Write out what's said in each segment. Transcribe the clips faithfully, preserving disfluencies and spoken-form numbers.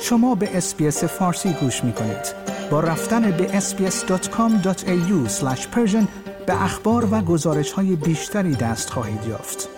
شما به اس‌بی‌اس فارسی گوش می‌کنید. با رفتن به اس بی اس دات کام دات ای یو اسلش پرشن به اخبار و گزارش‌های بیشتری دست خواهید یافت.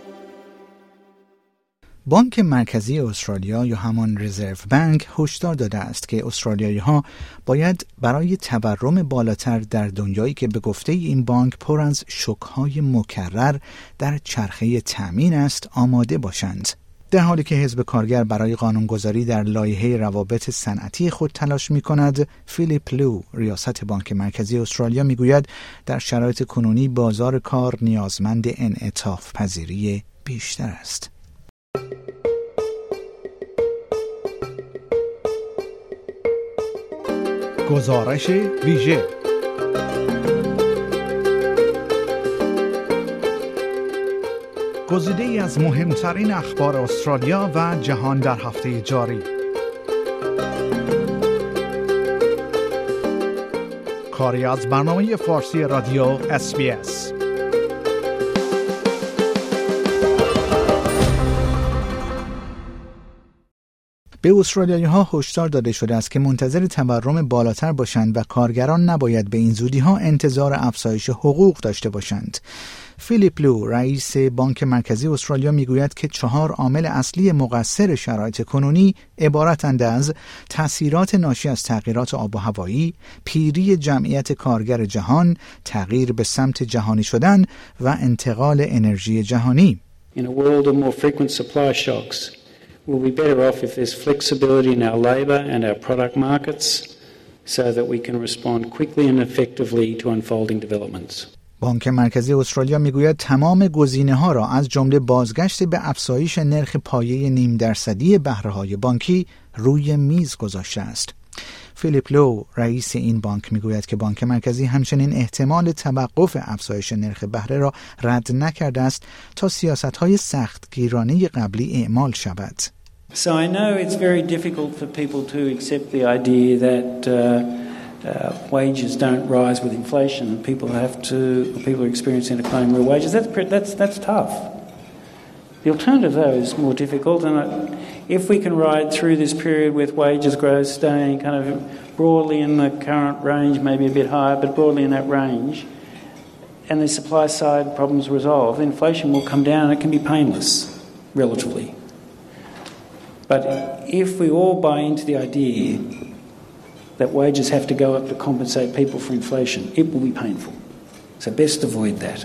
بانک مرکزی استرالیا یا همان رزرو بانک هشدار داده است که استرالیایی‌ها باید برای تورم بالاتر در دنیایی که به گفته این بانک پر از شوک‌های مکرر در چرخه تأمین است آماده باشند. در حالی که حزب کارگر برای قانونگذاری در لایحه روابط صنعتی خود تلاش می‌کند، فیلیپ لو، ریاست بانک مرکزی استرالیا می‌گوید در شرایط کنونی بازار کار نیازمند انعطاف پذیری بیشتر است. گزارش ویژه گزیده‌ای از مهمترین اخبار استرالیا و جهان در هفته جاری. کاری از برنامه فارسی رادیو اس بی اس. به استرالیایی‌ها هشدار داده شده است که منتظر تورم بالاتر باشند و کارگران نباید به این زودی‌ها انتظار افزایش حقوق داشته باشند. فیلیپ لو، رئیس بانک مرکزی استرالیا میگوید که چهار عامل اصلی مقصر شرایط کنونی عبارتند از تأثیرات ناشی از تغییرات آب و هوایی، پیری جمعیت کارگر جهان، تغییر به سمت جهانی شدن و انتقال انرژی جهانی. In a world of more frequent supply shocks, we'll be better off if there's flexibility in our labour and our product markets so that we can respond quickly and effectively to unfolding developments. بانک مرکزی استرالیا میگوید تمام گزینه‌ها را از جمله بازگشت به افزایش نرخ پایه نیم درصدی بهره‌های بانکی روی میز گذاشته است. فیلیپ لو، رئیس این بانک میگوید که بانک مرکزی همچنین احتمال توقف افزایش نرخ بهره را رد نکرده است تا سیاست‌های سختگیرانه قبلی اعمال شود. So I know it's very difficult for people to accept the idea that uh, Uh, wages don't rise with inflation. People have to. People are experiencing declining real wages. That's that's that's tough. The alternative, though, is more difficult. And if we can ride through this period with wages growth staying kind of broadly in the current range, maybe a bit higher, but broadly in that range, and the supply side problems resolved, inflation will come down. And it can be painless, relatively. But if we all buy into the idea that wages have to go up to compensate people for inflation, it will be painful. So best avoid that.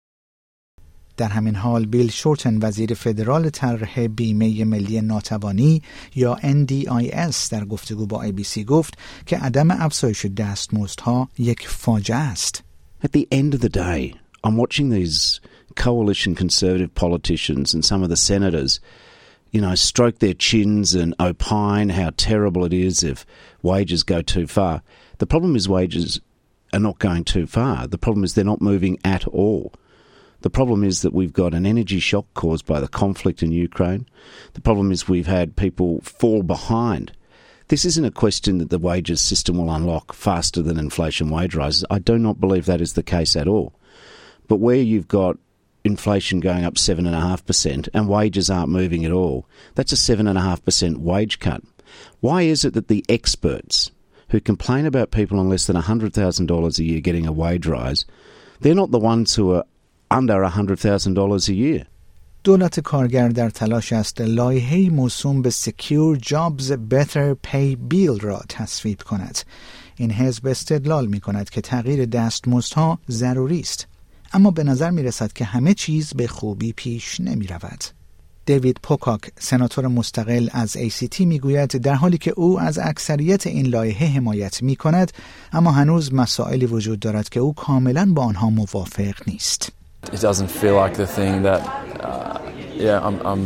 در همین حال بیل شورتن، وزیر فدرال طرح بیمه ملی ناتوانی یا ان دی آی اس، در گفتگو با ای بی سی گفت که عدم افزایش دستمزدها یک فاجعه است. At the end of the day, I'm watching these coalition conservative politicians and some of the senators, you know, stroke their chins and opine how terrible it is if wages go too far. The problem is wages are not going too far. The problem is they're not moving at all. The problem is that we've got an energy shock caused by the conflict in Ukraine. The problem is we've had people fall behind. This isn't a question that the wages system will unlock faster than inflation wage rises. I do not believe that is the case at all. But where you've got inflation going up seven point five percent and wages aren't moving at all, that's a seven point five percent wage cut. Why is it that the experts who complain about people on less than one hundred thousand dollars a year getting a wage rise, they're not the ones who are under one hundred thousand dollars a year? دولت کارگر در تلاش است لایحه‌ای موسوم به Secure Jobs Better Pay Bill را تصویب کند. این حزب استدلال می کند که تغییر دستمزدها ضروری است. اما به نظر می رسد که همه چیز به خوبی پیش نمی رود. دیوید پوکاک، سناتور مستقل از ای سی تی، می گوید در حالی که او از اکثریت این لایحه حمایت می کند، اما هنوز مسائلی وجود دارد که او کاملا با آنها موافق نیست. It doesn't feel like the thing that uh, yeah I'm I'm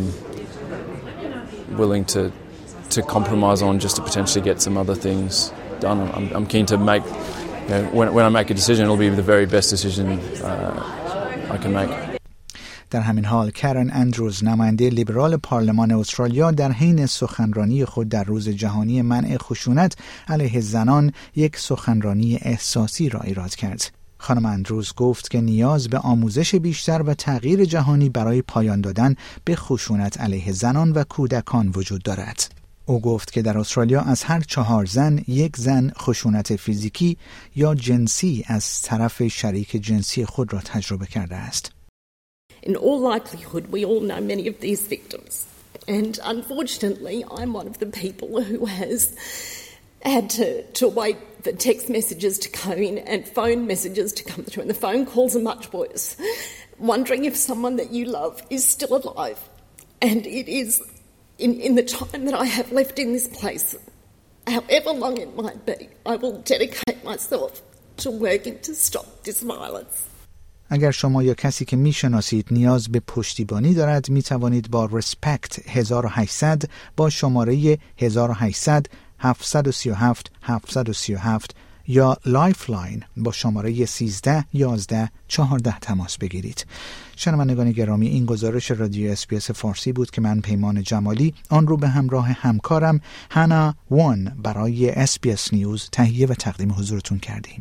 willing to to compromise on just to potentially get some other things done. I'm I'm keen to make, you know, when when I make a decision, it'll be the very best decision uh, I can make. در همین حال کرن اندروز، نماینده لیبرال پارلمان استرالیا، در حین سخنرانی خود در روز جهانی منع خشونت علیه زنان یک سخنرانی احساسی را ایراد کرد. خانم اندروز گفت که نیاز به آموزش بیشتر و تغییر جهانی برای پایان دادن به خشونت علیه زنان و کودکان وجود دارد. او گفت که در استرالیا از هر چهار زن یک زن خشونت فیزیکی یا جنسی از طرف شریک جنسی خود را تجربه کرده است. In all likelihood, we all know many of these victims. And unfortunately, I'm one of the people who has had to, to wait for text messages to come in and phone messages to come through. And the phone calls are much worse. Wondering if someone that you love is still alive. And it is, in, in the time that I have left in this place, however long it might be, I will dedicate myself to working to stop this violence. اگر شما یا کسی که میشناسید نیاز به پشتیبانی دارد می توانید با رسپکت هزار و هشتصد با شماره هزار و هشتصد هفتصد و سی و هفت هفتصد و سی و هفت یا لایفلاین با شماره سیزده یازده چهارده تماس بگیرید. شنوندگان گرامی، این گزارش رادیو اس بی اس فارسی بود که من پیمان جمالی آن رو به همراه همکارم هانا وان برای اس بی اس نیوز تهیه و تقدیم حضورتون کردیم.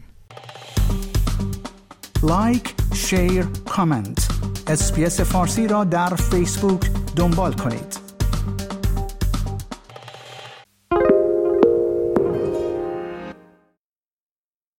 لایک، شیر، کامنت. اس بی اس فارسی را در فیسبوک دنبال کنید.